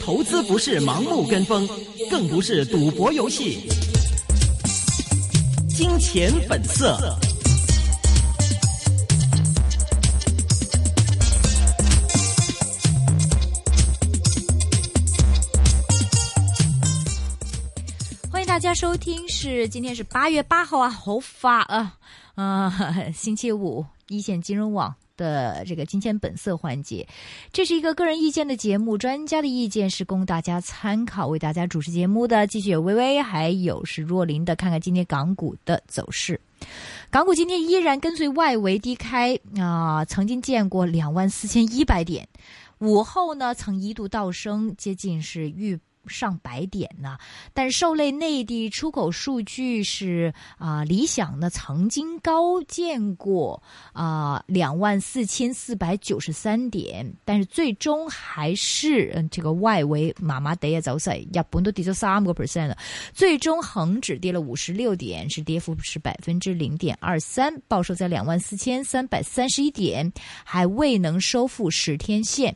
投資不是盲目跟風，更不是賭博遊戲。金錢本色。 欢迎大家收听，今天是8月8号啊，好快啊！星期五，一线金融网的这个金钱本色环节，这是一个个人意见的节目，专家的意见是供大家参考。为大家主持节目的继续有微微，还有是若琳的。看看今天港股的走势，港股今天依然跟随外围低开曾经见过24,100点，午后呢曾一度倒升，接近是逾上百点呢，但是受累内地出口数据是理想呢曾经高见过24,493点，但是最终还是这个外围麻麻地嘅走勢，日本都跌咗3%了，最終恒指跌了56點，是跌幅是0.23%，報收在24,331點，還未能收復10天線。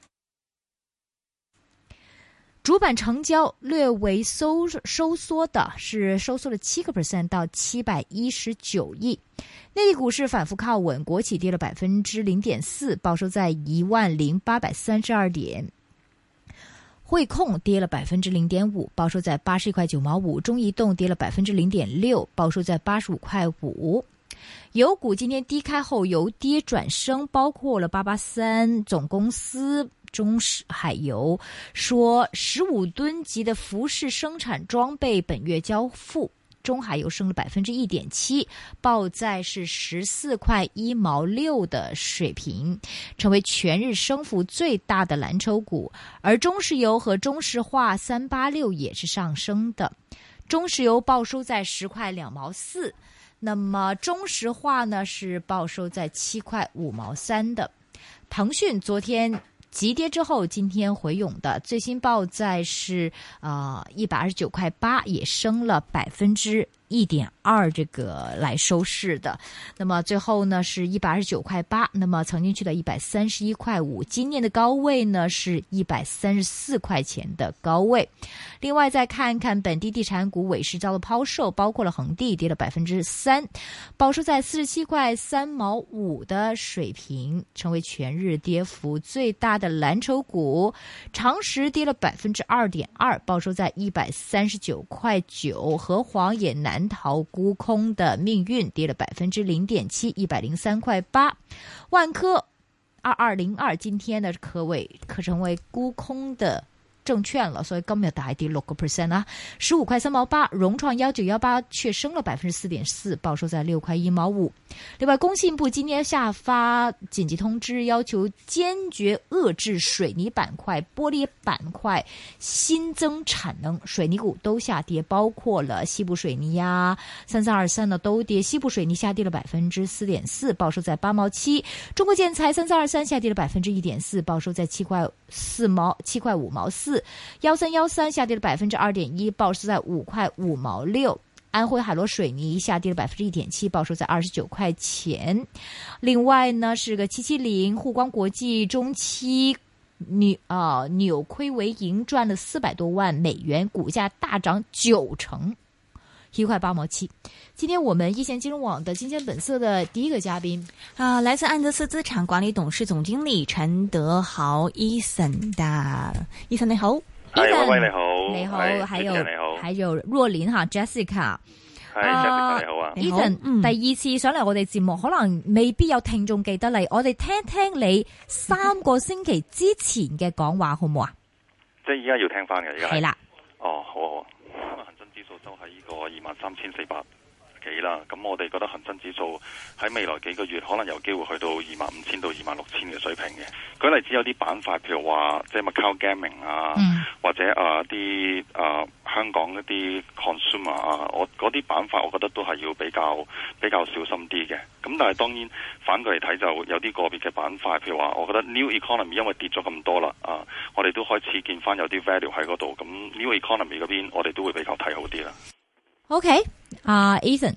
主板成交略微收縮的是收縮了7%到719億。內地股市反覆靠穩，國企跌了0.4%，報收在10,832點。匯控跌了0.5%，報收在81塊9毛5。中移動跌了0.6%，報收在85塊5。油股今天低開後由跌轉升，包括了883總公司、中海油說15噸級的服飾生產裝備本月交付，中海油升了1.7%，報在是14塊1毛6的水平，成為全日升幅最大的藍籌股。而中石油和中石化386也是上升的，中石油報收在10塊2毛4，那麼中石化呢是報收在7塊5毛3的。騰訊昨天急跌之後，今天回勇的，最新報在是129塊8，也升了1.2%这个来收市的。那么最后呢是129塊8，那麼曾經去到131塊5，今年的高位呢是134塊錢的高位。另外再看看本地地產股尾市遭到拋售，包括了恒地跌了3%，報收在47塊3毛5的水平，成為全日跌幅最大的藍籌股。長實跌了2.2%，報收在139塊9，和黃也難逃沽空的命運，跌了0.7%，103塊8。萬科2202今天呢可成為沽空的證券了，所以今日大跌6%啊，15塊3毛8。融創1918卻升了4.4%，報收在6塊1毛5。另外，工信部今天下發緊急通知，要求堅決遏制水泥板塊、玻璃板塊新增產能，水泥股都下跌，包括了西部水泥3323呢都跌，西部水泥下跌了4.4%，報收在8毛7。中國建材3323下跌了1.4%，報收在7塊5毛4。1313下跌了2.1%，報收在5塊5毛6。安徽海螺水泥下跌了1.7%，報收在29塊錢。另外呢是個770滬光國際中期扭虧為盈，賺了400多萬美元，股價大漲9%，1塊8毛7。今天我們一線金融網的金錢本色的第一個嘉賓來自安德斯資產管理董事總經理陳德豪 Ethan 的 Ethan 你好。 係，喂，你好， 你好，還有若琳哈 Jessica， 係 Jessica 你好啊 ，Ethan，第二次上嚟我哋節目，可能未必有聽眾記得你，我哋聽聽你3個星期之前嘅講話好唔好啊？ 即係依家要聽翻嘅，而家係啦。 哦，好，恒生指數收喺呢個23,400幾啦，咁我哋覺得恒生指數喺未來幾個月可能有機會去到25,000到26,000嘅水平嘅。舉例子有啲板塊，譬如話即係 Macau Gaming 或者啲香港一啲 consumer 我嗰啲板塊，我覺得都係要比較小心啲嘅。咁但係當然反過嚟睇，就有啲個別嘅板塊，譬如話我覺得 New Economy 因為跌咗咁多啦，我哋都開始見翻有啲 value 喺嗰度，咁 New Economy 嗰邊我哋都會比較睇好啲啦。 OK，Ethan，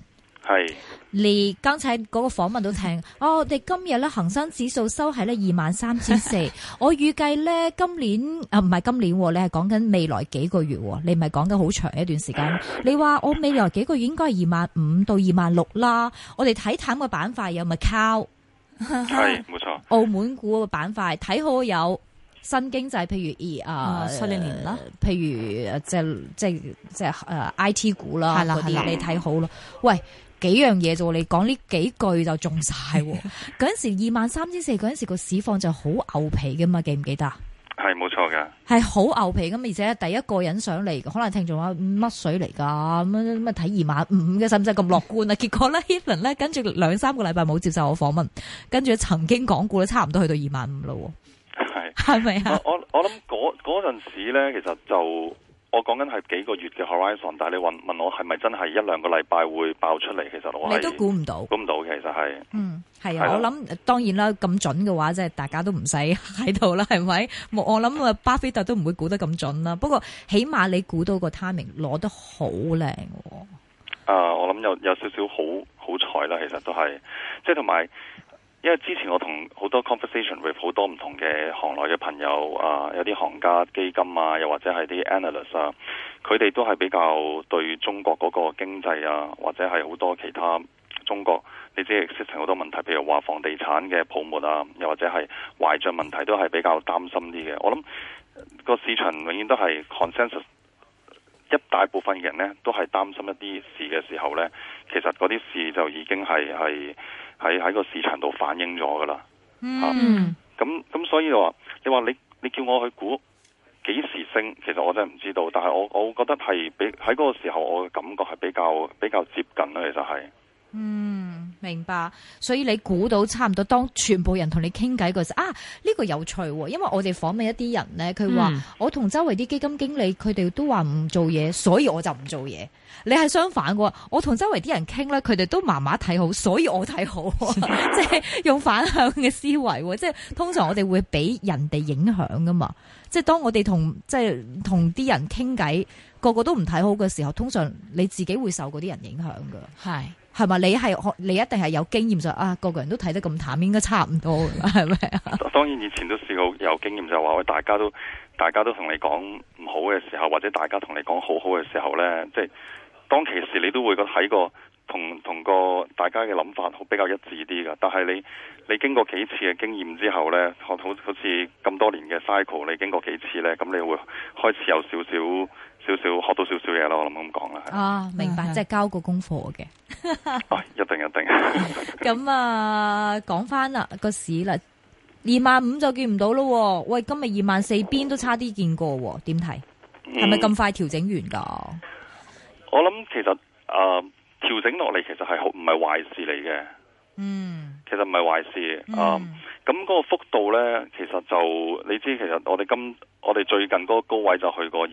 係。 你剛才嗰個訪問都聽，我哋今日咧恒生指數收喺咧23,400，我預計咧今年唔係今年，你係講緊未來幾個月，你唔係講緊好長一段時間。你話我未來幾個月應該係25,000到26,000啦。我哋睇淡嘅板塊有咪靠？ 係冇錯。 澳門股嘅板塊睇好有新經濟，譬如新年啦， 譬如即係IT 股啦，嗰啲你睇好咯。喂，幾樣嘢啫，你講呢幾句就中晒。嗰陣時23,400嗰陣時個市況就好牛皮噶嘛，記唔記得？ 係冇錯嘅， 係好牛皮咁，而且第一個人上嚟，可能聽眾話乜水嚟噶，咁睇25,000嘅，使唔使咁樂觀啊？結果咧 Ethan 咧跟住2-3個禮拜冇接受我訪問，跟住曾經講過咧，差唔多去到25,000咯。係咪啊？ 我諗嗰陣時咧，其實就我講緊係幾個月嘅 horizon， 但係你問我係咪真係1-2個禮拜會爆出嚟？其實我係你都估唔到， 估唔到其實係。 係啊，我諗當然啦，咁準嘅話，即係大家都唔使喺度啦，係咪？我諗巴菲特都唔會估得咁準啦。不過起碼你估到個 timing 攞得好靚。 我諗有少少好彩啦，其實都係，即係同埋。因為之前我同好多 conversation with 好多唔同嘅行內嘅朋友有啲行家基金啊，又或者係啲 analyst 啊，佢哋都係比較對中國嗰個經濟啊，或者係好多其他中國你知 existing 好多問題，譬如話房地產嘅泡沫啊，又或者係壞賬問題，都係比較擔心啲嘅。我諗個市場永遠都係 consensus， 一大部分人呢都係擔心一啲事嘅時候呢，其實嗰啲事就已經係喺個市場度反映咗噶啦。咁所以你話你叫我去估幾時升，其實我真係唔知道。但係我覺得係喺嗰個時候，我嘅感覺係比較接近啦。其實係。 明白。所以你估到差唔多，當全部人同你傾偈嗰時呢個有趣喎，因為我哋訪問一啲人咧，佢話我同周圍啲基金經理，佢哋都話唔做嘢，所以我就唔做嘢。你係相反嘅，我同周圍啲人傾咧，佢哋都麻麻睇好，所以我睇好，即係用反向嘅思維。即係通常我哋會俾人哋影響噶嘛，即係當我哋同啲人傾偈，個個都唔睇好嘅時候，通常你自己會受嗰啲人影響噶。係咪？你一定係有經驗就個個人都睇得咁淡，應該差唔多㗎，係咪啊？ 當然以前都試過有經驗，就話喂，大家都同你講唔好嘅時候，或者大家同你講好好嘅時候咧，即係當其時你都會覺得喺個同個大家嘅諗法比較一致啲㗎。但係你經過幾次嘅經驗之後咧，好似咁多年嘅 cycle， 你經過幾次咧，咁你會開始有少少學到少少嘢咯。我諗咁講啦。 明白，即係交個功課嘅。 一定。 咁講翻啦個市啦，25,000就見唔到咯。喂，今日24,000邊都差啲見過，點睇？係咪咁快調整完噶？ 我諗其實調整落嚟其實係唔係壞事嚟嘅。其實唔係壞事。咁嗰個幅度咧，其實就你知，其實我哋最近嗰個高位就去過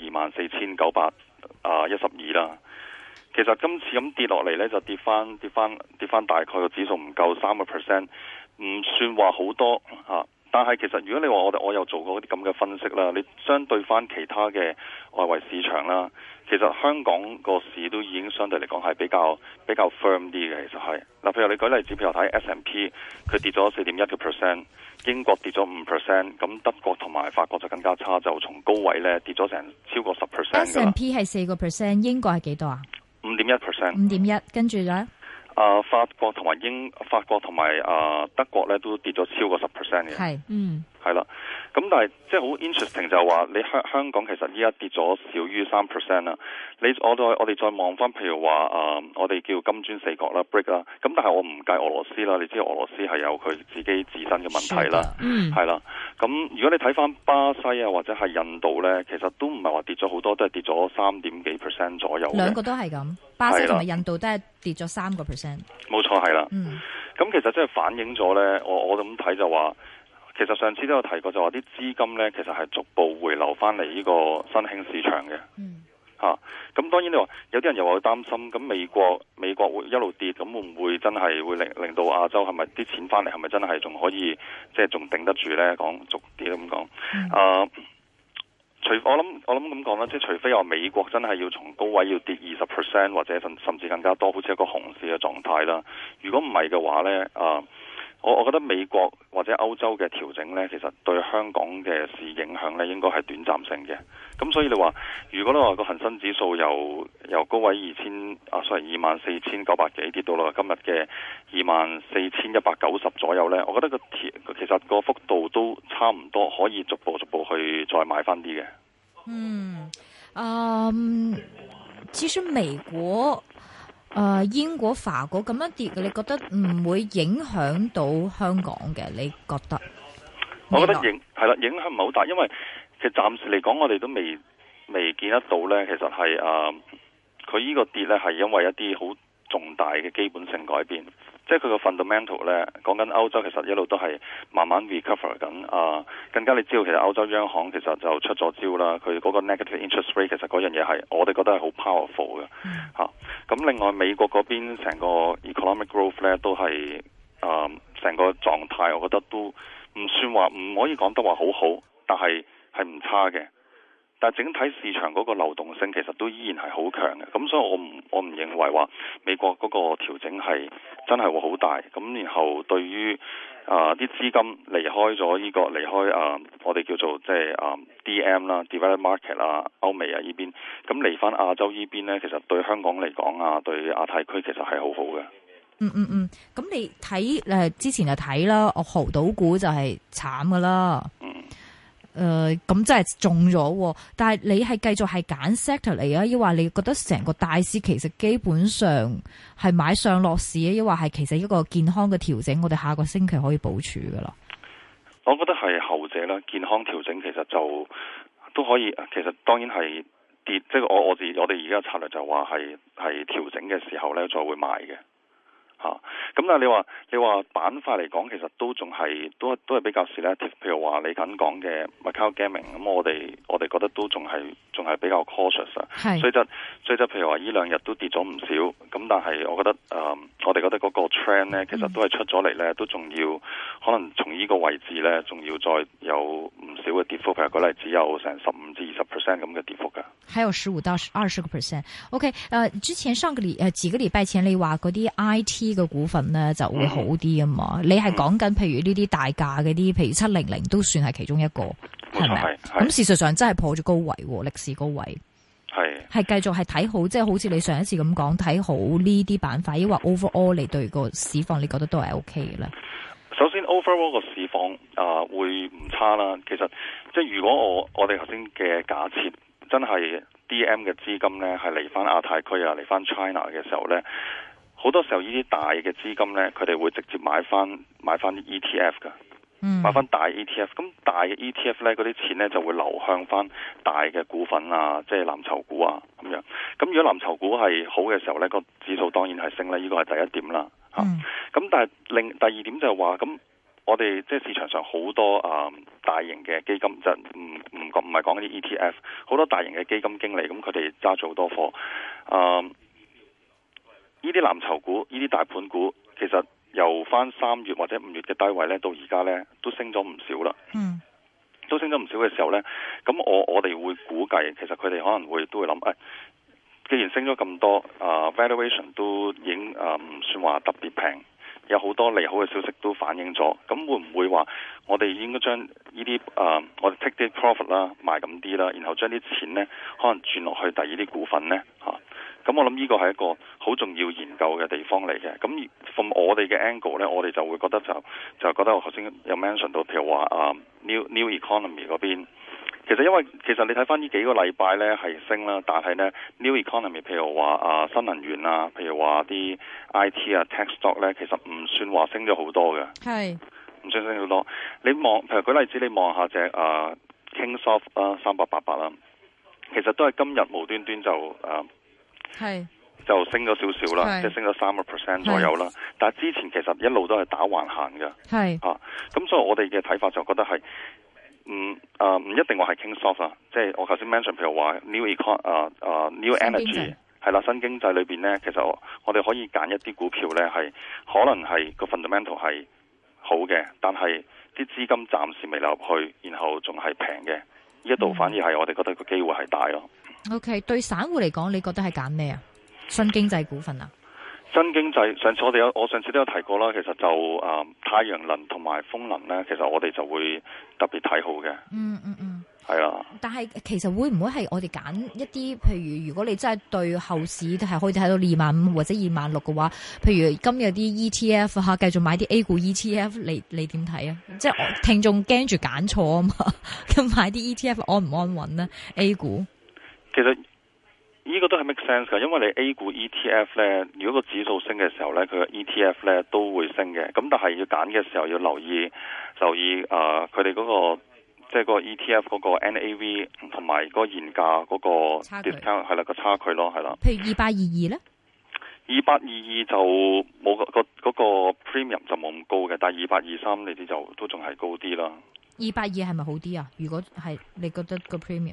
24,912啦。其實今次咁跌落嚟咧，就跌翻大概個指數唔夠3%，唔算話好多吓。但係其實如果你話我又做過啲咁嘅分析啦，你相對翻其他嘅外圍市場啦，其實香港個市都已經相對嚟講係比較 firm 啲嘅。其實係嗱，譬如你舉例子，譬如睇 S&P， 佢跌咗4.1%， 英國跌咗5%，咁德國同埋法國就更加差，就從高位咧跌咗成超過10%。 S&P 係4%，英國係幾多啊 ？5.1%。 5.1，跟住咧？ 法國同埋德國咧都跌咗超過10%嘅。係啦。咁但係即係好 interesting 就係話你香港其實依家跌咗少於3%啦。我哋再望翻，譬如話我哋叫金磚四國啦 ，BRIC 啦。咁但係我唔計俄羅斯啦，你知道俄羅斯係有佢自己自身嘅問題啦。係啦。咁如果你睇翻巴西啊或者係印度咧，其實都唔係話跌咗好多，都係跌咗3.幾% 左右。 兩個都係咁，巴西同埋印度都係跌咗3%。 冇錯，係啦。咁其實即係反映咗咧，我咁睇就話。其實上次都有提過，就話啲資金咧，其實係逐步回流翻嚟呢個新興市場嘅。咁當然你話有啲人又話會擔心，咁美國會一路跌，咁會唔會真係會令到亞洲係咪啲錢翻嚟，係咪真係仲可以即係仲頂得住咧？講逐啲咁講。除我諗咁講啦，即係除非話美國真係要從高位要跌20%或者甚至更加多，好似一個熊市嘅狀態啦。如果唔係嘅話呢，我覺得美國或者歐洲嘅調整呢，其實對香港嘅市影響呢應該係短暫性嘅。咁所以你話，如果你話個恒生指數由高位24,900幾跌到落今日嘅24,190左右呢，我覺得其實個幅度都差唔多，可以逐步去再買翻啲嘅。 其實美國、英國、法國咁樣跌嘅，你覺得唔會影響到香港嘅？你覺得？我覺得影響唔係好大，因為其實暫時嚟講，我哋都未見得到呢。其實係佢呢個跌呢係因為一啲好重大嘅基本性改變，即係佢個 fundamental 呢，講緊歐洲其實一路都係慢慢 recover 緊。更加你知道其實歐洲央行其實就出咗招啦，佢嗰個 negative interest rate 其實嗰樣嘢係我哋覺得係好 powerful 嘅嚇。咁另外美國嗰邊成個 economic growth 呢都係成個狀態，我覺得都唔算話唔可以講得話好好，但係唔差嘅。但係整體市場嗰個流動性其實都依然係好強嘅，咁所以我唔認為話美國嗰個調整係真係會好大。咁然後對於啲資金離開我哋叫做即係DM 啦 developed market 啦，歐美啊呢邊，咁嚟翻亞洲呢邊呢，其實對香港嚟講對亞太區其實係好好嘅。 咁你睇之前就睇啦，豪賭股就係慘噶啦。咁真係中咗，但係你係繼續係揀 sector 嚟啊？抑或你覺得成個大市其實基本上係買上落市啊？抑或係其實一個健康嘅調整，我哋下個星期可以部署噶啦？ 我覺得係後者啦，健康調整其實就都可以。其實當然係跌，即係我哋而家策略就話係調整嘅時候咧，再會買嘅。咁但係你話板塊嚟講，其實都仲係都係比較 selective。譬如話你緊講嘅 Macau Gaming，咁我哋覺得都仲係比較 cautious 啊。所以就譬如話呢兩日都跌咗唔少。咁但係我覺得我哋覺得嗰個 trend 咧，其實都係出咗嚟咧，都仲要可能從呢個位置咧，仲要再有唔少嘅跌幅。譬如舉例只有成15%至20%咁嘅跌幅噶。 還有15%到20%。OK， 之前幾個禮拜前你話嗰啲 IT 嘅股份咧就會好啲啊嘛，你係講緊譬如呢啲大價嗰啲，譬如700都算係其中一個，係咪？咁事實上真係破咗高位，歷史高位，係繼續係睇好，即係好似你上一次咁講睇好呢啲板塊，抑或 overall 你對個市況你覺得都係 OK 嘅咧？ 首先 overall 個市況會唔差啦。其實即係如果我哋頭先嘅假設真係 DM 嘅資金咧係嚟翻亞太區嚟翻 China 嘅時候咧。好多時候呢啲大嘅資金呢，佢哋會直接買翻啲 ETF 噶，買翻大 ETF。咁大嘅 ETF 呢，嗰啲錢呢就會流向翻大嘅股份即係藍籌股咁樣。咁如果藍籌股係好嘅時候呢，個指數當然係升啦，呢個係第一點啦。咁但係第二點就係話，咁我哋即係市場上好多大型嘅基金，就唔係講啲 ETF， 好多大型嘅基金經理，咁佢哋揸咗好多貨。呢啲藍籌股、呢啲大盤股，其實由翻3月或者5月嘅低位咧，到而家咧都升咗唔少啦。都升咗唔少嘅時候咧，咁我哋會估計，其實佢哋可能都會諗，既然升咗咁多，valuation 都已經唔算話特別平，有好多利好嘅消息都反映咗，咁會唔會話我哋應該將呢啲我哋 take 啲 profit 啦，賣咁啲啦，然後將啲錢咧可能轉落去第二啲股份咧咁我諗呢個係一個好重要研究嘅地方嚟嘅。咁從我哋嘅 angle 咧，我哋就會覺得就覺得我頭先有 mention 到，譬如話New Economy 嗰邊，其實因為其實你睇翻呢幾個禮拜咧係升啦，但係咧 New Economy 譬如話新能源譬如話啲 IT tech stock 咧，其實唔算話升咗好多嘅，係唔算升好多。你望譬如舉例子，你望下隻Kingsoft 3888啦，其實都係今日無端端就升咗少少啦，即係升咗3% 左右啦。但係之前其實一路都係打橫行嘅，咁所以我哋嘅睇法就覺得係唔一定話係 Kingsoft 啊，即係我頭先 mention 譬如話 New Energy 係啦，新經濟裏邊咧，其實我哋可以揀一啲股票咧係可能係個 fundamental 係好嘅，但係啲資金暫時未流入去，然後仲係平嘅。 呢一度反而係我哋覺得個機會係大咯。 OK， 對散戶嚟講，你覺得係揀咩啊？新經濟股份啊？ 新經濟上次我上次都有提過啦，其實就太陽能同埋風能咧，其實我哋就會特別睇好嘅。係啊。但係其實會唔會係我哋揀一啲，譬如果你真係對後市係可以睇到25000或者26000嘅話，譬如今日啲 ETF 吓，繼續買啲 A 股 ETF，你點睇啊？即係聽眾驚住揀錯啊嘛，咁買啲 ETF 安唔安穩呢 ？A 股其實呢個都係 make sense 噶，因為你 A 股 ETF 咧，如果個指數升嘅時候咧，佢個 ETF 咧都會升嘅。咁但係要揀嘅時候要留意佢哋嗰個即係個 ETF 嗰個 NAV 同埋嗰個現價嗰個 discount 係啦，個差距咯，係啦。 譬如2822咧 ，2822就冇嗰個 premium 就冇咁高嘅，但係2823你啲就都仲係高啲啦。 282係咪好啲啊？如果係你覺得個 premium？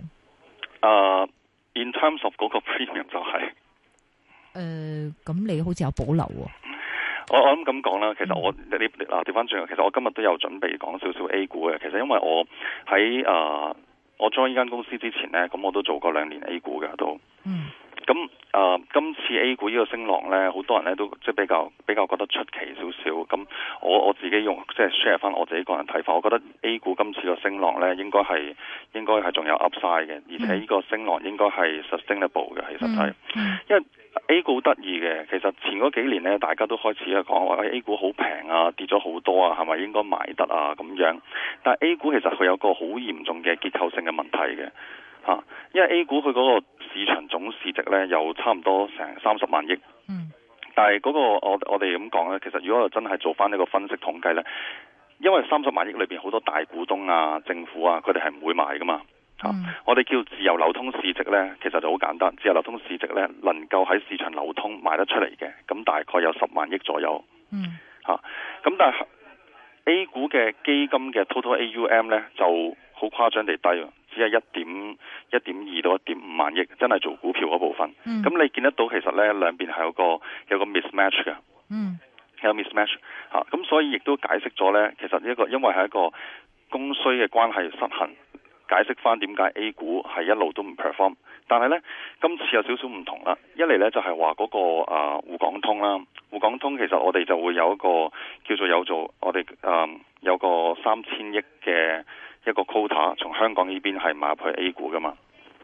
In terms of 嗰個 premium 就係咁你好似有保留喎。 我諗咁講啦，其實我你調翻轉，其實我今日都有準備講少少 A 股嘅。其實因為我喺我 join 呢間公司之前呢，咁我都做過2年 A 股嘅都。咁今次 A 股呢個升浪呢，好多人呢都即係比較覺得出奇少少。咁我自己用即係 share 翻我自己個人睇法，我覺得 A 股今次個升浪呢應該係仲有 upside 嘅，而且呢個升浪應該係 sustainable 嘅。其實係，因為 A 股得意嘅，其實前嗰幾年呢，大家都開始去講話 A 股好平啊，跌咗好多啊，係咪應該買得啊咁樣？但係 A 股其實佢有個好嚴重嘅結構性嘅問題嘅。因為 A 股佢嗰個市場總市值咧有差唔多成30萬億，但係嗰個我哋咁講咧，其實如果我真係做翻呢個分析統計咧，因為30萬億裏邊好多大股東啊、政府啊，佢哋係唔會買噶嘛，我哋叫自由流通市值咧，其實就好簡單，自由流通市值咧能夠喺市場流通賣得出嚟嘅，咁大概有10萬億左右，咁但係 A 股嘅基金嘅 total AUM 咧就好誇張地低。只係1.2到1.5萬億，真係做股票嗰部分。咁你見得到其實咧兩邊係有個 mismatch 嘅，有 mismatch 咁所以亦都解釋咗咧，其實因為係一個供需嘅關係失衡，解釋翻點解 A 股係一路都唔 perform。但係咧今次有少少唔同啦，一嚟咧就係話嗰個滬港通啦，滬港通其實我哋就會有一個我哋有個3000億嘅一個 quota 從香港呢邊係買入去 A 股噶嘛，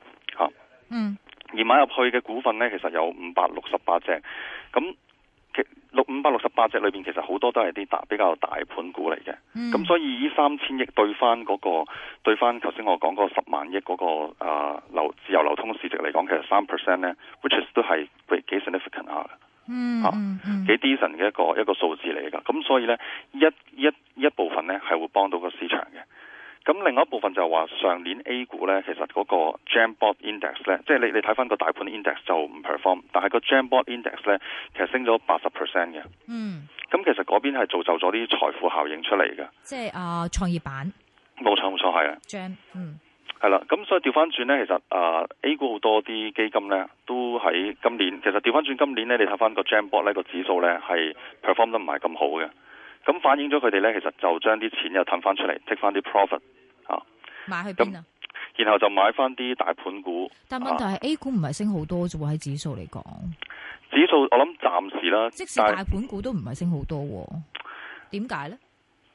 而買入去嘅股份呢，其實有568隻，咁568隻裏邊其實好多都係啲比較大盤股嚟嘅，咁所以呢3000億對翻頭先我講嗰10萬億嗰個自由流通市值嚟講，其實3% 呢 which is 都係幾 significant 下嘅，幾 decent 嘅一個數字嚟噶，咁所以呢，一部分呢係會幫到個市場嘅。咁另外一部分就係話上年 A 股咧，其實嗰個 Jamboard Index 咧，即係你睇翻個大盤 index 就唔 perform， 但係個 Jamboard Index 咧，其實升咗80% 嘅。咁其實嗰邊係造就咗啲財富效應出嚟嘅。即係創業板。冇錯係啊。 Jam， 係啦，咁所以調翻轉咧，其實A 股好多啲基金咧，都喺今年，其實調翻轉今年咧，你睇翻個 Jamboard 呢個指數咧，係 perform 得唔係咁好嘅。咁反映咗佢哋咧，其實就將啲錢又褪翻出嚟，take 翻啲 profit 買去邊啊？ 然後就買翻啲大盤股。 但問題係 A 股唔係升好多啫喎，喺指數嚟講。 指數我諗暫時啦， 即使大盤股都唔係升好多，點解咧？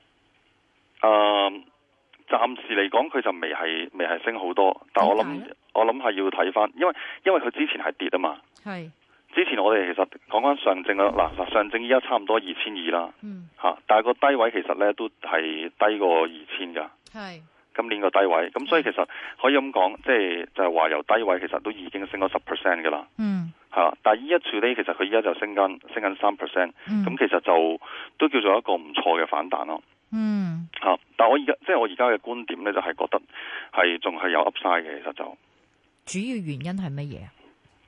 暫時嚟講佢就未係升好多，但我諗係要睇翻，因為佢之前係跌啊嘛。係。之前我哋其實講翻上證啦，嗱上證依家差唔多2200啦，但係個低位其實咧都係低過2000噶，係今年個低位，咁所以其實可以咁講，就係話由低位其實都已經升咗10% 噶啦，但係依一處咧其實佢依家就升緊3%，咁其實就都叫做一個唔錯嘅反彈咯，但係我而家嘅觀點咧就係覺得係仲係有 upside 嘅，其實就主要原因係乜嘢啊？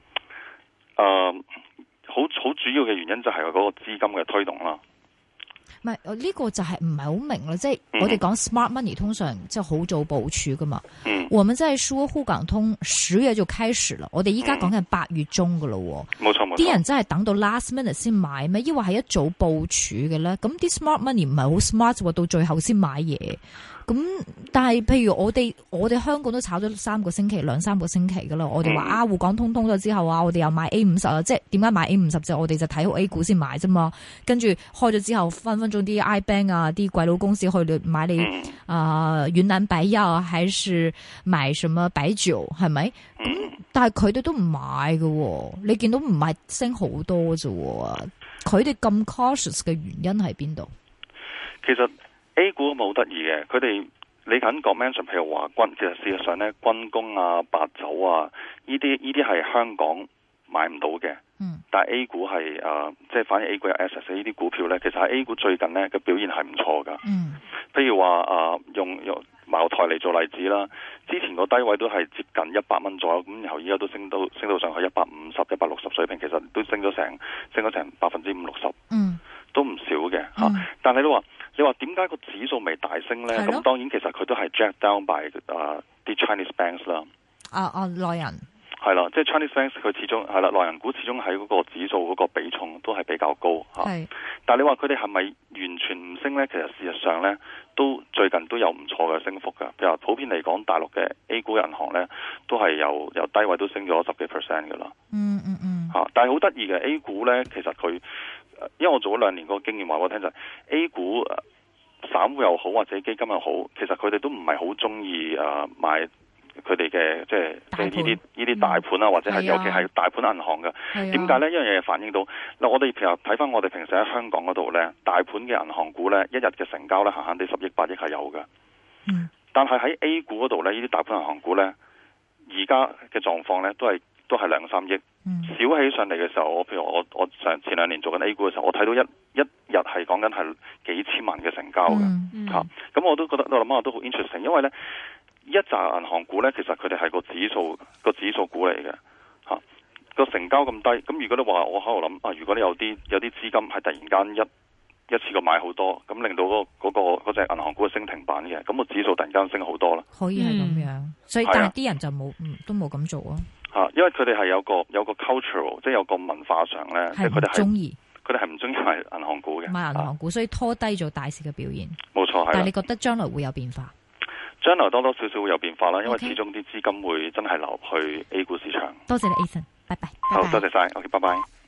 好主要嘅原因就係嗰個資金嘅推動啦。 唔係呢個就係唔係好明咯，即係我哋講 smart money 通常即係好早部署噶嘛。我們在說滬港通10月就開始啦，我哋依家講緊8月中噶咯。冇錯冇錯。啲人真係等到 last minute 先買咩？抑或係一早部署嘅咧？咁啲 smart money 唔係好 smart 喎，到最後先買嘢。 咁但係譬如我哋香港都炒咗兩三個星期噶啦，我哋話滬港通咗之後啊，我哋又買 A50啊，即係點解買 A50就我哋就睇好 A 股先買啫嘛，跟住開咗之後分分鐘啲 iBank 啊啲鬼佬公司去買你雲南白藥還是買什麼白酒係咪？咁但係佢哋都唔買嘅，你見到唔係升好多啫，佢哋咁 cautious 嘅原因喺邊度？ 其實 A 股冇得意嘅，佢哋你緊講 mention， 譬如話其實事實上咧，軍工啊、白酒啊，呢啲係香港買唔到嘅。但係 A 股係即係反而 A 股有 assets 呢啲股票咧，其實喺 A 股最近咧嘅表現係唔錯噶。譬如話用茅台嚟做例子啦，之前個低位都係接近100蚊左右，咁然後依家都升到上去150、160水平，其實都升咗成50-60%，都唔少嘅吓。但係你話點解個指數未大升咧？咁當然其實佢都係 jack down by 啲 Chinese banks 啦。 內人係啦，即係 Chinese banks 佢始終係啦，內人股始終喺嗰個指數嗰個比重都係比較高吓。但係你話佢哋係咪完全唔升咧？其實事實上咧，都最近都有唔錯嘅升幅噶。譬如話普遍嚟講，大陸嘅 A 股銀行咧，都係由低位都升咗10幾%噶啦。但係好得意嘅 A 股咧，其實佢因為我做咗2年嗰個經驗話我聽就係 A 股散戶又好或者基金又好，其實佢哋都唔係好中意買佢哋嘅即係呢啲大盤啊，或者係尤其係大盤銀行嘅。點解呢？一樣嘢反映到嗱，我哋譬如睇翻我哋平時喺香港嗰度呢，大盤嘅銀行股呢，一日嘅成交呢，閒閒地10億8億係有嘅。但係喺 A 股嗰度呢，呢啲大盤銀行股呢，而家嘅狀況呢，都係2-3億。少起上嚟嘅時候，譬如我前2年做緊 A 股嘅時候，我睇到一日係講緊係幾千萬嘅成交嘅。咁我都覺得我諗下都好 interesting， 因為呢一紮銀行股呢，其實佢哋係個指數股嚟嘅，個成交咁低。咁如果你話我喺度諗如果你有啲資金係突然間一次過買好多，咁令到嗰隻銀行股升停板嘅，咁個指數突然間升好多啦。 可以係咁樣，所以但係啲人就都冇咁做啊。 因為佢哋係有個 cultural， 即係有個文化上呢，即係佢哋係唔中意買銀行股嘅， 買銀行股，所以拖低咗大市嘅表現。冇錯，係。 但係你覺得將來會有變化？ 將來多多少少會有變化啦，因為始終啲資金會真係流去 A 股市場。 多謝你 Ethan，拜拜。 好，多謝晒，OK，拜拜。